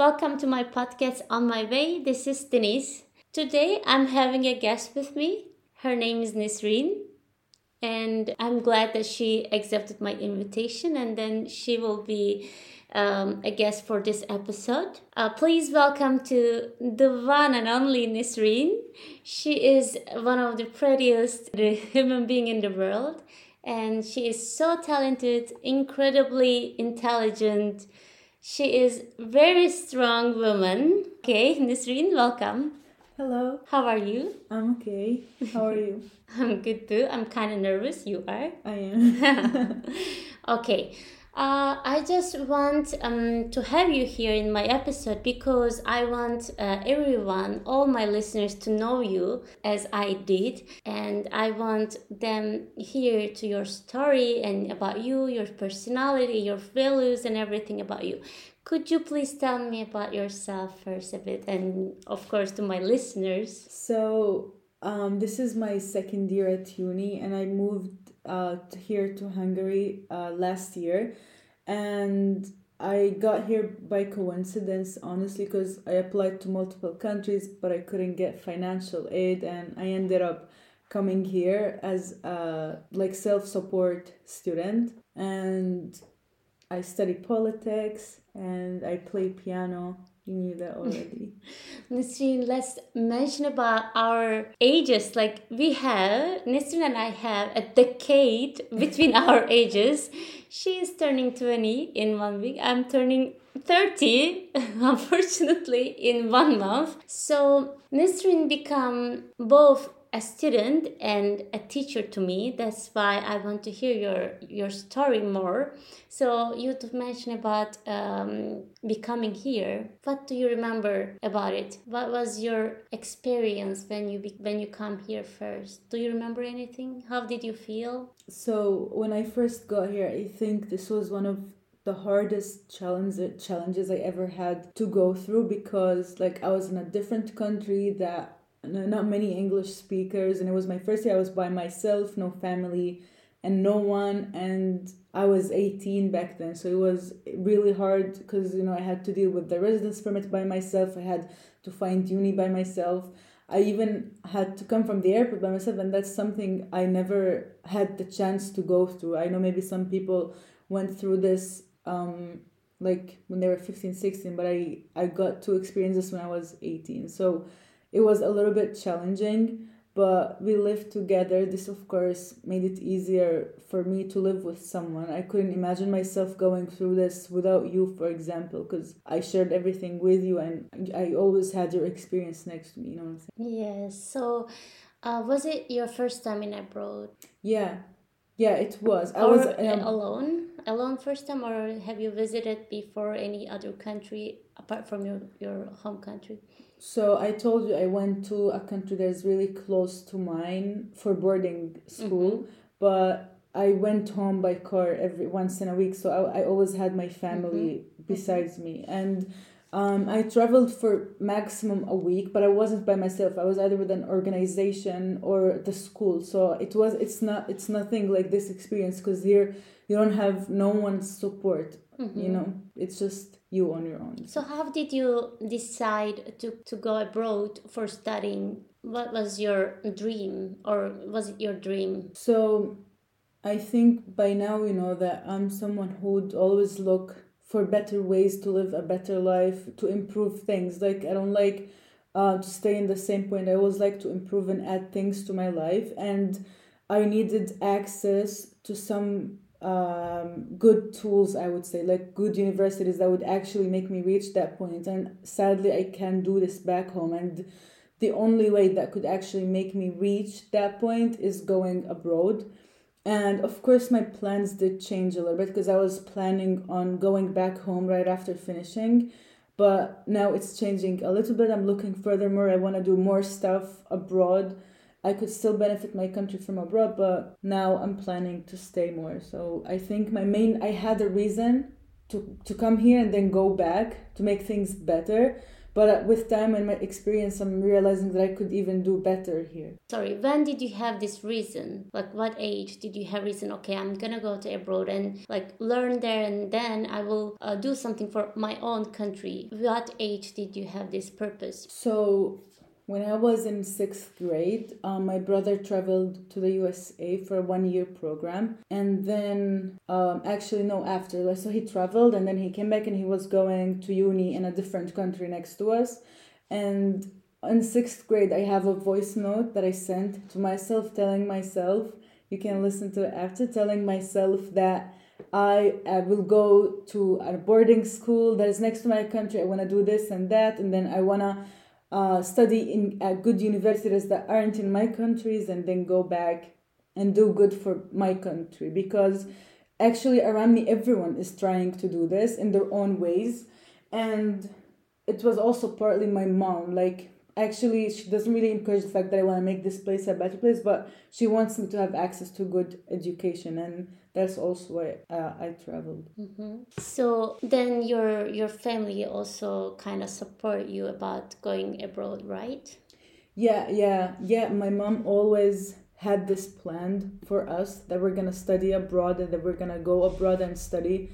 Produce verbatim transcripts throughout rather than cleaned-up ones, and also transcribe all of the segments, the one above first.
welcome to my podcast On My Way. This is Denise. Today I'm having a guest with me. Her name is Nisreen, and I'm glad that she accepted my invitation, and then she will be um, a guest for this episode. Uh, please welcome to the one and only Nisreen. She is one of the prettiest human being in the world, and she is so talented, incredibly intelligent. She is very strong woman. Okay, Nisreen, welcome. Hello. How are you? I'm okay. How are you? I'm good too. I'm kind of nervous. You are? I am. Okay. Uh, I just want um, to have you here in my episode because I want uh, everyone, all my listeners, to know you as I did. And I want them here to your story and about you, your personality, your values, and everything about you. Could you please tell me about yourself first a bit, and of course to my listeners? So, um, this is my second year at uni, and I moved uh, to here to Hungary uh, last year, and I got here by coincidence, honestly, because I applied to multiple countries, but I couldn't get financial aid, and I ended up coming here as a like self-support student, and I study politics and I play piano. You knew that already. Nisreen, let's mention about our ages. Like we have, Nisreen and I have a decade between our ages. She is turning twenty in one week. I'm turning thirty, unfortunately, in one month. So Nisreen become both a student and a teacher to me. That's why I want to hear your your story more. So you to mention about um, becoming here. What do you remember about it? What was your experience when you be, when you come here first? Do you remember anything? How did you feel? So when I first got here, I think this was one of the hardest challenge, challenges I ever had to go through, because like I was in a different country that not many English speakers, and it was my first year. I was by myself, no family and no one, and I was eighteen back then, so it was really hard because, you know, I had to deal with the residence permit by myself. I had to find uni by myself. I even had to come from the airport by myself, and that's something I never had the chance to go through. I know maybe some people went through this um like when they were fifteen, sixteen, but I, I got to experience this when I was eighteen. So it was a little bit challenging, but we lived together. This, of course, made it easier for me to live with someone. I couldn't imagine myself going through this without you, for example, because I shared everything with you and I always had your experience next to me, you know what I'm saying? Yes. So uh, was it your first time in abroad? Yeah. Yeah, it was. I or was um, alone? Alone first time, or have you visited before any other country apart from your, your home country? So I told you I went to a country that's really close to mine for boarding school, mm-hmm. but I went home by car every once in a week. So I, I always had my family mm-hmm. besides mm-hmm. me. And um, I traveled for maximum a week, but I wasn't by myself. I was either with an organization or the school. So it was, it's not, it's nothing like this experience, because here you don't have no one's support, mm-hmm. you know, it's just you on your own. So how did you decide to, to go abroad for studying? What was your dream, or was it your dream? So I think by now you know that I'm someone who would always look for better ways to live a better life, to improve things. Like I don't like uh, to stay in the same point. I always like to improve and add things to my life. And I needed access to some um good tools, I would say, like good universities that would actually make me reach that point. And sadly I can't do this back home, and the only way that could actually make me reach that point is going abroad. And of course my plans did change a little bit, because I was planning on going back home right after finishing, but now it's changing a little bit. I'm looking furthermore. I want to do more stuff abroad. I could still benefit my country from abroad, but now I'm planning to stay more. So I think my main, I had a reason to, to come here and then go back to make things better. But uh, with time and my experience, I'm realizing that I could even do better here. Sorry, when did you have this reason? Like, what age did you have reason? Okay, I'm gonna go to abroad and like learn there, and then I will uh, do something for my own country. What age did you have this purpose? So when I was in sixth grade, um, my brother traveled to the U S A for a one-year program, and then um, actually no, after like, so he traveled and then he came back and he was going to uni in a different country next to us, and in sixth grade I have a voice note that I sent to myself, telling myself, you can listen to it after, telling myself that I, I will go to a boarding school that is next to my country. I want to do this and that, and then I want to uh, study in uh, good universities that aren't in my countries, and then go back and do good for my country. Because actually around me everyone is trying to do this in their own ways, and it was also partly my mom. Like, actually she doesn't really encourage the fact that I want to make this place a better place, but she wants me to have access to good education, and that's also why uh, I traveled. Mm-hmm. So then your your family also kind of support you about going abroad, right? Yeah, yeah, yeah. My mom always had this planned for us that we're gonna study abroad and that we're gonna go abroad and study.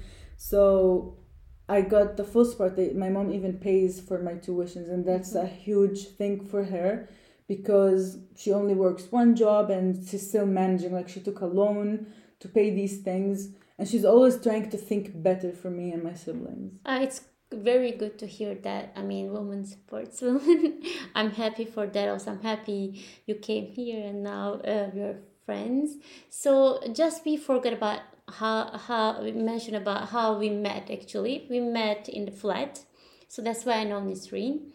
So I got the full support. My mom even pays for my tuitions, and that's mm-hmm. a huge thing for her, because she only works one job and she's still managing. Like, she took a loan to pay these things, and she's always trying to think better for me and my siblings. Uh, it's very good to hear that. I mean, women supports women. I'm happy for that. Also, I'm happy you came here and now uh, we're friends. So just we forgot about how how we mentioned about how we met. Actually, we met in the flat, so that's why I know Nisreen.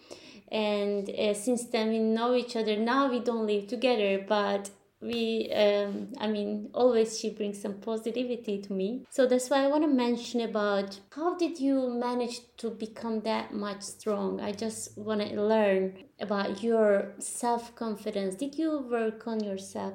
And uh, since then we know each other. Now we don't live together, but we um I mean, always she brings some positivity to me. So that's why I want to mention about how did you manage to become that much strong. I just want to learn about your self-confidence. Did you work on yourself?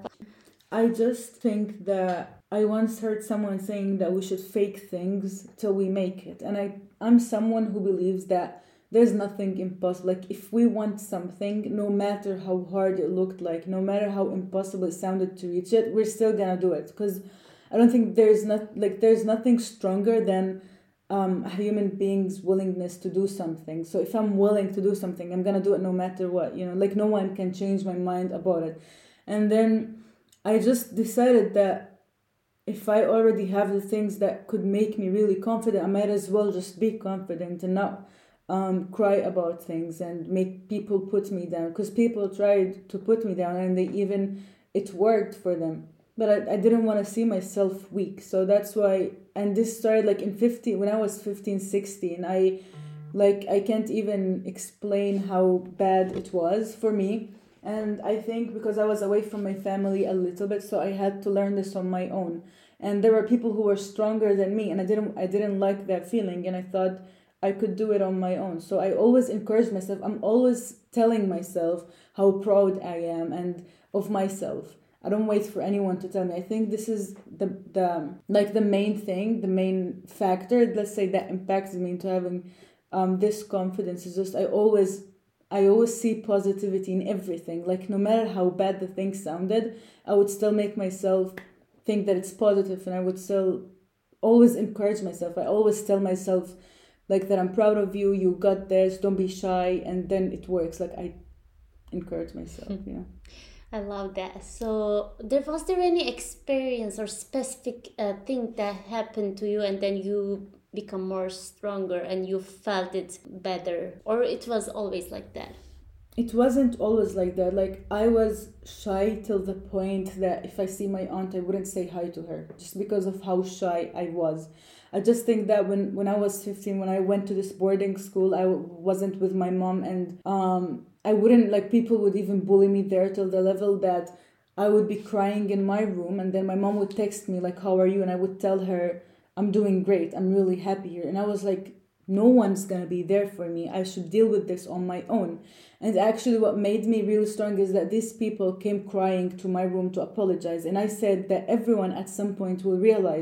I just think that I once heard someone saying that we should fake things till we make it. And I, I'm someone who believes that there's nothing impossible. Like, if we want something, no matter how hard it looked like, no matter how impossible it sounded to reach it, we're still gonna do it. Because I don't think there's not like there's nothing stronger than um, a human being's willingness to do something. So if I'm willing to do something, I'm gonna do it no matter what. You know, like, no one can change my mind about it. And then I just decided that if I already have the things that could make me really confident, I might as well just be confident and not um, cry about things and make people put me down. Because people tried to put me down, and they even, it worked for them. But I, I didn't want to see myself weak. So that's why, and this started like in fifteen, when I was fifteen, sixteen, I, like, I can't even explain how bad it was for me. And I think because I was away from my family a little bit, so I had to learn this on my own. And there were people who were stronger than me, and I didn't I didn't like that feeling, and I thought I could do it on my own. So I always encourage myself. I'm always telling myself how proud I am and of myself. I don't wait for anyone to tell me. I think this is the the like the main thing, the main factor, let's say, that impacts me into having um this confidence. Is just I always I always see positivity in everything. Like, no matter how bad the thing sounded, I would still make myself think that it's positive, and I would still always encourage myself. I always tell myself, like, that I'm proud of you, you got this, don't be shy, and then it works. Like, I encourage myself, you know. I love that. So, there was there any experience or specific uh, thing that happened to you, and then you become more stronger and you felt it better, or it was always like that? It wasn't always like that. Like, I was shy till the point that if I see my aunt, I wouldn't say hi to her, just because of how shy I was. I just think that when, when I was fifteen, when I went to this boarding school, I w- wasn't with my mom, and um, I wouldn't, like, people would even bully me there till the level that I would be crying in my room, and then my mom would text me, like, how are you? And I would tell her, I'm doing great, I'm really happy here. And I was like, no one's gonna be there for me. I should deal with this on my own. And actually what made me really strong is that these people came crying to my room to apologize. And I said that everyone at some point will realize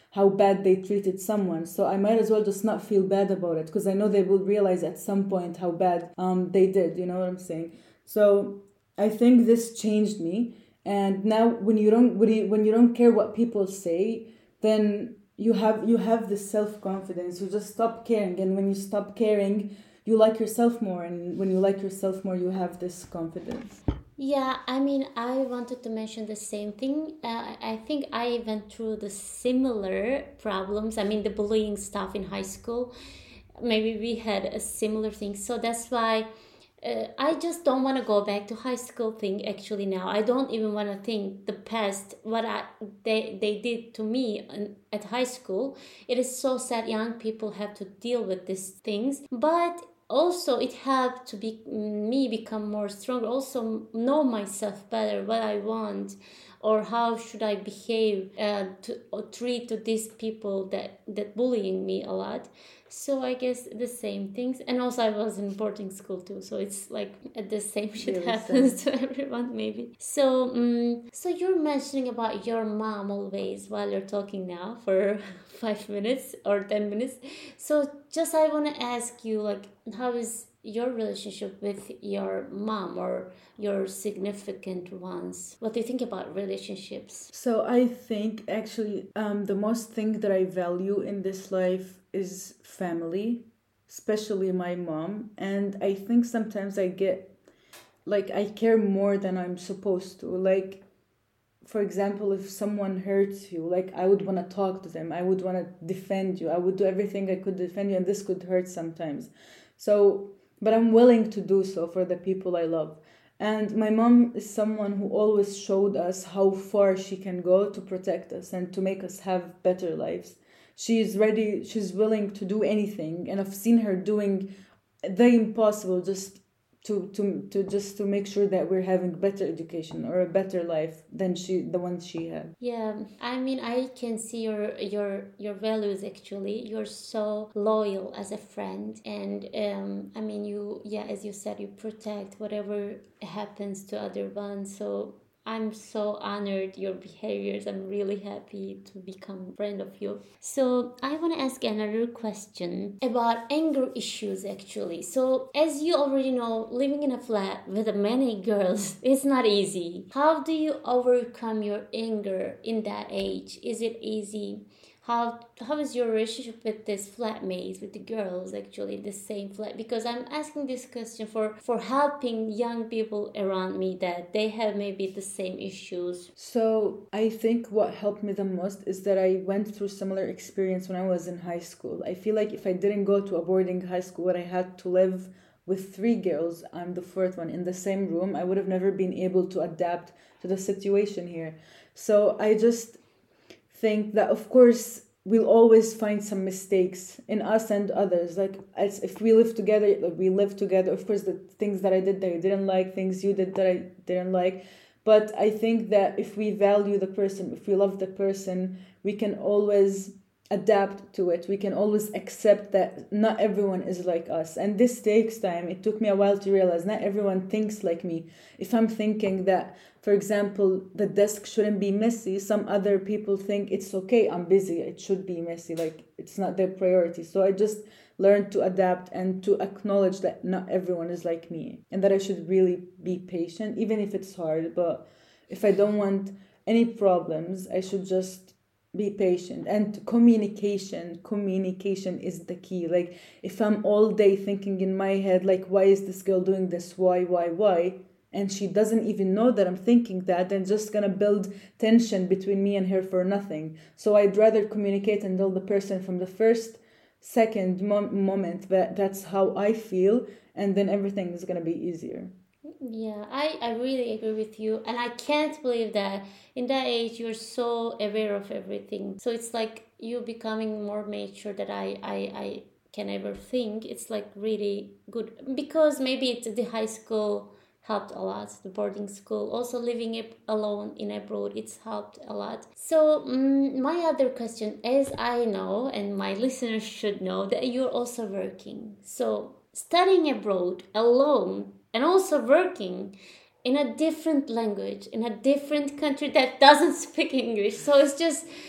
how bad they treated someone. So I might as well just not feel bad about it, because I know they will realize at some point how bad um they did. You know what I'm saying? So I think this changed me. And now when you don't when you, when you don't care what people say, then you have you have this self-confidence. You just stop caring, and when you stop caring, you like yourself more, and when you like yourself more, you have this confidence. Yeah, I mean, I wanted to mention the same thing. Uh, I think I went through the similar problems. I mean, the bullying stuff in high school. Maybe we had a similar thing. So that's why uh, I just don't want to go back to high school thing actually now. I don't even want to think the past, what I, they, they did to me in, at high school. It is so sad young people have to deal with these things. But also it helped to be me become more stronger, also know myself better, what I want, or how should I behave uh, to or treat to these people that that bullying me a lot. So I guess the same things. And also I was in boarding school too, so it's like uh, the same shit Really happens sad. to everyone maybe. So um, so you're mentioning about your mom always while you're talking now for five minutes or ten minutes. So just I want to ask you, like, how is your relationship with your mom or your significant ones? What do you think about relationships? So I think actually um, the most thing that I value in this life is family, especially my mom. And I think sometimes I get like I care more than I'm supposed to. Like, for example, if someone hurts you, like I would want to talk to them, I would want to defend you, I would do everything I could defend you, and this could hurt sometimes. So, but I'm willing to do so for the people I love. And my mom is someone who always showed us how far she can go to protect us and to make us have better lives. She is ready, she's willing to do anything, and I've seen her doing the impossible just to to to just to make sure that we're having better education or a better life than she the one she had. Yeah, I mean, I can see your your your values actually. You're so loyal as a friend, and um, I mean, you yeah, as you said, you protect whatever happens to other ones. So I'm so honored your behaviors. I'm really happy to become a friend of you. So I want to ask another question about anger issues actually. So as you already know, living in a flat with many girls is not easy. How do you overcome your anger in that age? Is it easy? How how is your relationship with this flatmates, with the girls actually in the same flat? Because I'm asking this question for for helping young people around me that they have maybe the same issues. So I think what helped me the most is that I went through similar experience when I was in high school. I feel like if I didn't go to a boarding high school where I had to live with three girls, I'm the fourth one, in the same room, I would have never been able to adapt to the situation here. So I just think that of course we'll always find some mistakes in us and others. Like, as if we live together, like we live together, of course the things that I did that I didn't like, things you did that I didn't like. But I think that if we value the person, if we love the person, we can always adapt to it. We can always accept that not everyone is like us. And this takes time. It took me a while to realize not everyone thinks like me. If I'm thinking that, for example, the desk shouldn't be messy, some other people think it's okay, I'm busy, it should be messy. Like, it's not their priority. So I just learned to adapt and to acknowledge that not everyone is like me, and that I should really be patient, even if it's hard. But if I don't want any problems, I should just be patient. And communication communication is the key. Like, if I'm all day thinking in my head, like, why is this girl doing this, why why why and she doesn't even know that I'm thinking that, then just gonna build tension between me and her for nothing. So I'd rather communicate and tell the person from the first second mom- moment that that's how I feel, and then everything is gonna be easier. Yeah, I, I really agree with you. And I can't believe that in that age you're so aware of everything. So it's like you becoming more mature that I, I, I can ever think. It's like really good. Because maybe it's the high school helped a lot, the boarding school. Also living it alone in abroad, it's helped a lot. So um, my other question, as I know and my listeners should know, that you're also working. So studying abroad alone and also working in a different language, in a different country that doesn't speak English. So it's just,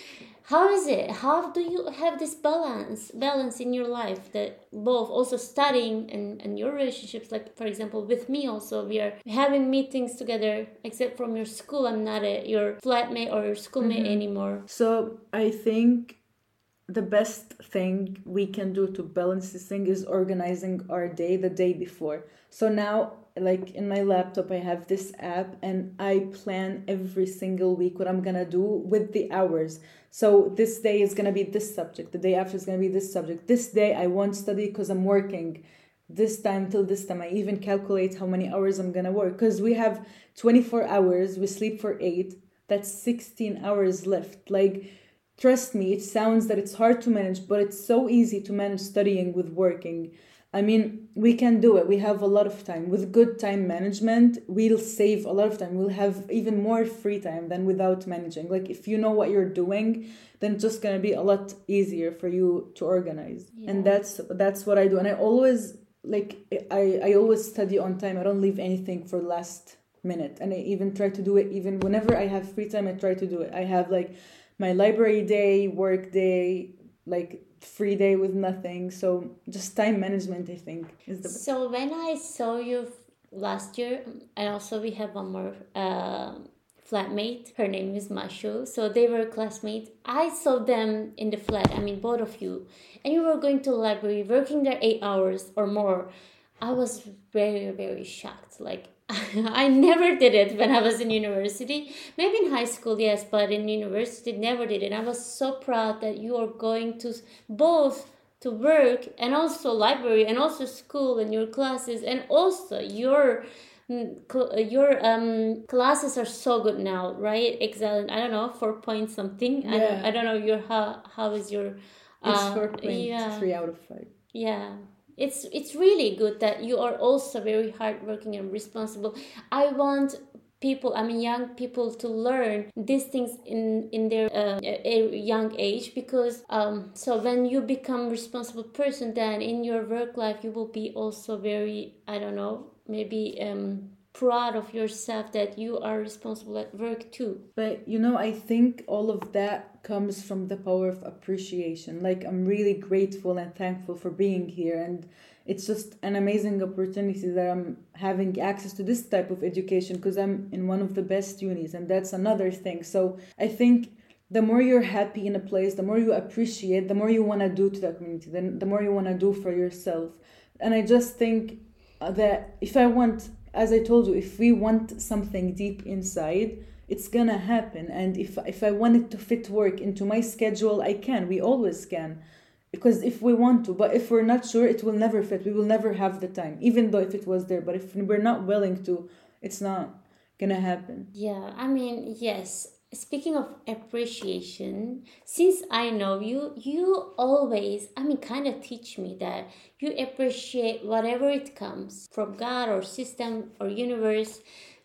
how is it? How do you have this balance balance in your life, that both also studying and, and your relationships? Like, for example, with me also, we are having meetings together, except from your school. I'm not a, your flatmate or your schoolmate Mm-hmm. anymore. So I think the best thing we can do to balance this thing is organizing our day the day before. So now, like in my laptop, I have this app and I plan every single week what I'm gonna do with the hours. So this day is gonna be this subject, the day after is gonna be this subject. This day I won't study because I'm working. This time till this time, I even calculate how many hours I'm gonna work, because we have twenty-four hours, we sleep for eight, that's sixteen hours left. Like, trust me, it sounds that it's hard to manage, but it's so easy to manage studying with working. I mean, we can do it. We have a lot of time. With good time management, we'll save a lot of time. We'll have even more free time than without managing. Like, if you know what you're doing, then it's just gonna be a lot easier for you to organize. Yeah. And that's that's what I do. And I always like I, I always study on time. I don't leave anything for last minute. And I even try to do it even whenever I have free time, I try to do it. I have like my library day, work day, like free day with nothing. So just time management, I think, is the best. So when I saw you f- last year, and also we have one more uh, flatmate. Her name is Mashu. So they were classmates. I saw them in the flat. I mean, both of you, and you were going to the library, working there eight hours or more. I was very very shocked. Like, I never did it when I was in university. Maybe in high school, yes, but in university, never did it. I was so proud that you are going to both to work and also library and also school and your classes, and also your mm, cl- your um classes are so good now, right? Excellent. I don't know, four point something. I don't Yeah. I don't know your how how is your It's uh, four point yeah. three out of five. Yeah, it's it's really good that you are also very hardworking and responsible. I want people, I mean young people, to learn these things in in their uh, a young age, because um so when you become responsible person, then in your work life you will be also very, I don't know, maybe um proud of yourself that you are responsible at work too. But you know, I think all of that comes from the power of appreciation. Like, I'm really grateful and thankful for being here, and it's just an amazing opportunity that I'm having access to this type of education, because I'm in one of the best unis, and that's another thing. So I think the more you're happy in a place, the more you appreciate, the more you want to do to the community, then the more you want to do for yourself. And I just think uh, that if I want, as I told you, if we want something deep inside, it's gonna happen. And if if I wanted to fit work into my schedule, I can. We always can, because if we want to. But if we're not sure, it will never fit. We will never have the time, even though if it was there. But if we're not willing to, it's not gonna happen. Yeah, I mean, yes. Speaking of appreciation, since I know you, you always, I mean, kind of teach me that you appreciate whatever it comes from God or system or universe.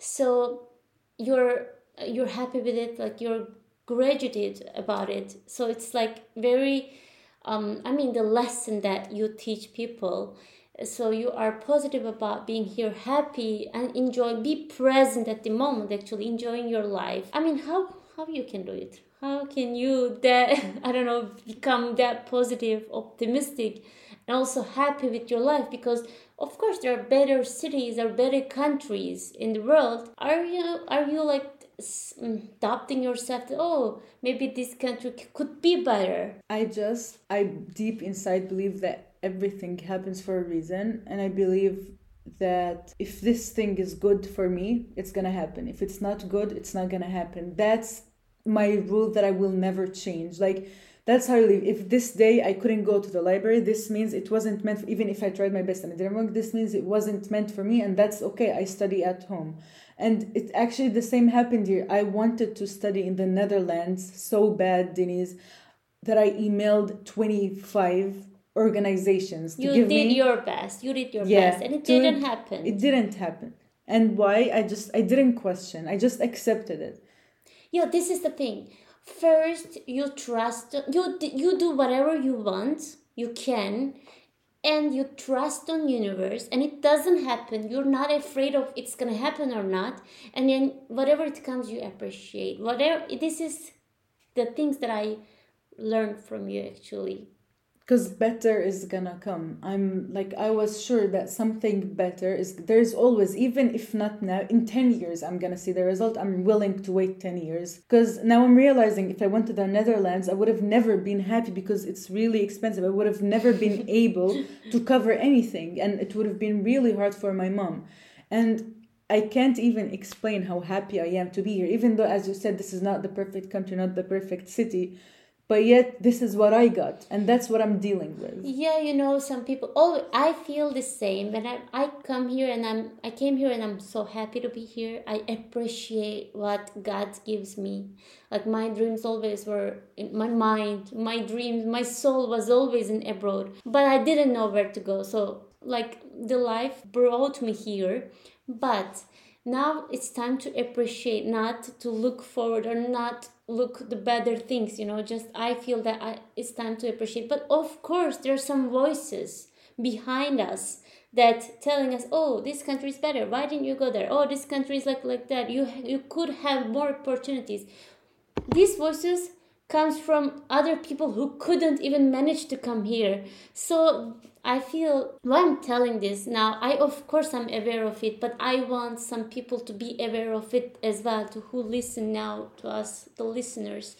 So you're you're happy with it, like you're graduated about it. So it's like very, um, I mean, the lesson that you teach people. So you are positive about being here, happy and enjoy, be present at the moment, actually enjoying your life. I mean, how how you can do it? How can you that I don't know, become that positive, optimistic, and also happy with your life? Because of course there are better cities or better countries in the world. Are you are you like doubting yourself that, oh, maybe this country could be better? I just, I deep inside believe that everything happens for a reason, and I believe that if this thing is good for me, it's gonna happen. If it's not good, it's not gonna happen. That's my rule that I will never change. Like, that's how I live. If this day I couldn't go to the library, this means it wasn't meant for, even if I tried my best and it didn't work, this means it wasn't meant for me, and that's okay. I study at home. And it actually, the same happened here. I wanted to study in the Netherlands so bad, Denise, that I emailed twenty-five organizations to You give did me, your best. You did your yeah, best, and it to- didn't happen. It didn't happen. And why? I just, I didn't question. I just accepted it. Yeah, this is the thing. First, you trust. You d- you do whatever you want. You can, and you trust on universe, and it doesn't happen. You're not afraid of it's gonna happen or not. And then whatever it comes, you appreciate. Whatever. This is the things that I learn from you actually. Because better is gonna come. I'm like, I was sure that something better is, there's always, even if not now, in ten years I'm gonna see the result. I'm willing to wait ten years, because now I'm realizing if I went to the Netherlands I would have never been happy, because it's really expensive. I would have never been able to cover anything, and it would have been really hard for my mom. And I can't even explain how happy I am to be here, even though, as you said, this is not the perfect country, not the perfect city. But yet, this is what I got, and that's what I'm dealing with. Yeah, you know, some people. Oh, I feel the same. When I I come here and I'm I came here and I'm so happy to be here. I appreciate what God gives me. Like my dreams always were in my mind. My dreams, my soul was always in abroad, but I didn't know where to go. So like the life brought me here, but now it's time to appreciate, not to look forward or not look the better things, you know. Just I feel that I, it's time to appreciate. But of course there are some voices behind us that telling us, oh, this country is better, why didn't you go there? Oh, this country is like like that, you you could have more opportunities. These voices comes from other people who couldn't even manage to come here. So I feel why I'm telling this now, I of course I'm aware of it, but I want some people to be aware of it as well, to who listen now to us, the listeners.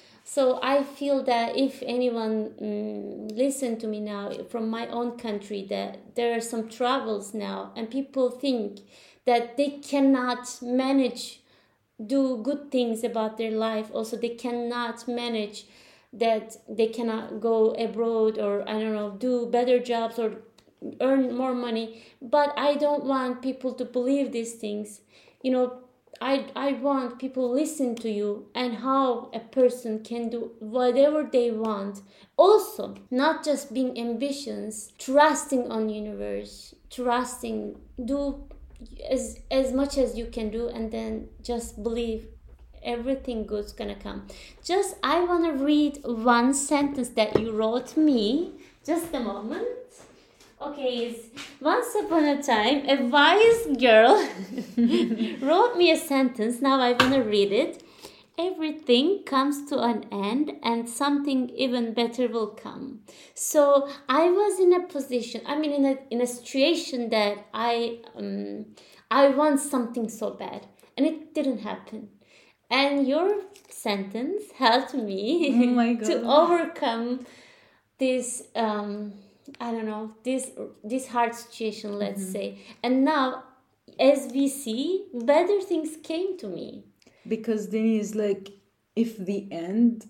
So I feel that if anyone mm, listen to me now from my own country, that there are some troubles now and people think that they cannot manage do good things about their life, also they cannot manage, that they cannot go abroad or I don't know, do better jobs or earn more money. But I don't want people to believe these things, you know. I, I want people listen to you and how a person can do whatever they want. Also, not just being ambitious, trusting on universe, trusting, do as as much as you can do, and then just believe everything good's gonna come. Just I want to read one sentence that you wrote me. Just a moment. Okay, it's, once upon a time a wise girl wrote me a sentence. Now I want to read it. Everything comes to an end and something even better will come. So I was in a position, I mean in a in a situation that I um I want something so bad and it didn't happen. And your sentence helped me Oh my God. to overcome this um I don't know, this this hard situation, let's mm-hmm. say. And now as we see, better things came to me. Because Dini is like, if the end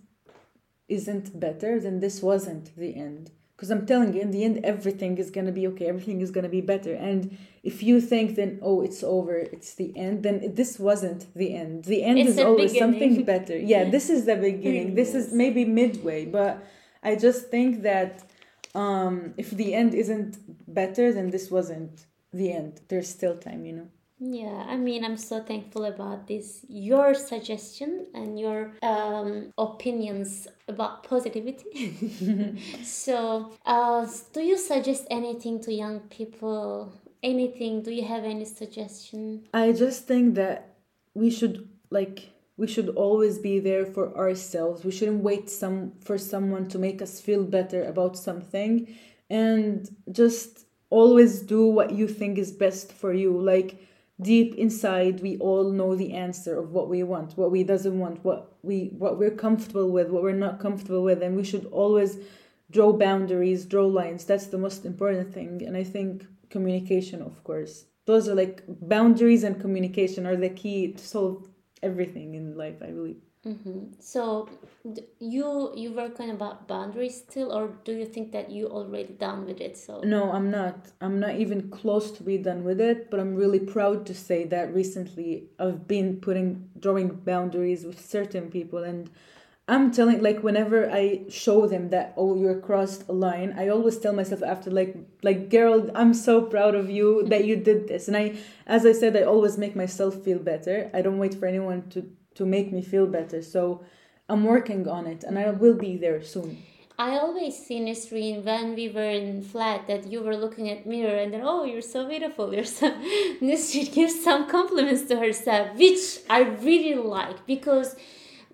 isn't better, then this wasn't the end. Because I'm telling you, in the end, everything is going to be okay. Everything is going to be better. And if you think then, oh, it's over, it's the end, then this wasn't the end. The end it's is always beginning. Something better. Yeah, this is the beginning. This is maybe midway. But I just think that um, if the end isn't better, then this wasn't the end. There's still time, you know. Yeah, I mean, I'm so thankful about this, your suggestion and your um, opinions about positivity. So, uh, do you suggest anything to young people? Anything? Do you have any suggestion? I just think that we should, like, we should always be there for ourselves. We shouldn't wait some for someone to make us feel better about something, and just always do what you think is best for you. Like, deep inside, we all know the answer of what we want, what we doesn't want, what we what we're comfortable with, what we're not comfortable with, and we should always draw boundaries, draw lines. That's the most important thing. And I think communication, of course, those are like boundaries and communication are the key to solve everything in life, I believe. Mm-hmm. So you you work on about boundaries still, or do you think that you already done with it? So no, I'm not. I'm not even close to be done with it. But I'm really proud to say that recently I've been putting drawing boundaries with certain people, and I'm telling, like, whenever I show them that, oh, you're crossed a line, I always tell myself after, like, like girl, I'm so proud of you that you did this. And I, as I said, I always make myself feel better. I don't wait for anyone to. to make me feel better. So I'm working on it and I will be there soon. I always see, Nisreen, when we were in flat, that you were looking at mirror and then, oh, you're so beautiful. You're so... Nisreen gives some compliments to herself, which I really like, because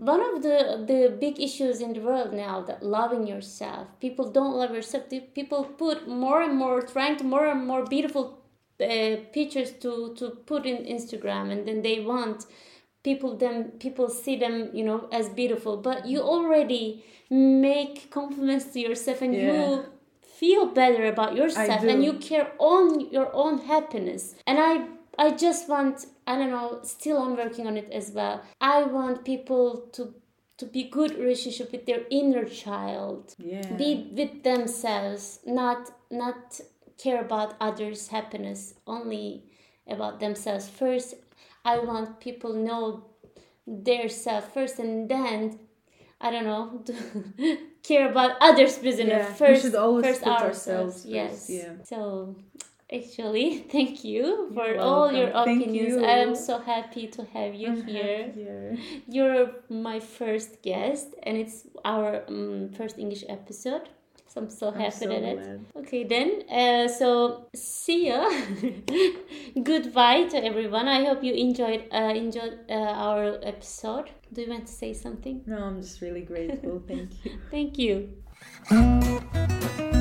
one of the the big issues in the world now, that loving yourself. People don't love yourself. People put more and more, trying to more and more beautiful uh, pictures to to put in Instagram, and then they want people them people see them, you know, as beautiful. But you already make compliments to yourself, and Yeah. you feel better about yourself, do. and you care on your own happiness. And I I just want, I don't know, still I'm working on it as well. I want people to to be good relationship with their inner child. Yeah. Be with themselves, not not care about others' happiness, only about themselves first. I want people know their self first, and then I don't know, to care about others' business Yeah, we first. should always first put ourselves. ourselves first, Yes. yeah. So actually, thank you for You're all your welcome. Thank opinions. you. I am so happy to have you I'm here. happy here. You're my first guest, and it's our um, first English episode. So I'm so I'm happy so at it. glad. Okay, then. Uh, so see ya. Goodbye to everyone. I hope you enjoyed uh, enjoyed uh, our episode. Do you want to say something? No, I'm just really grateful. Thank you. Thank you.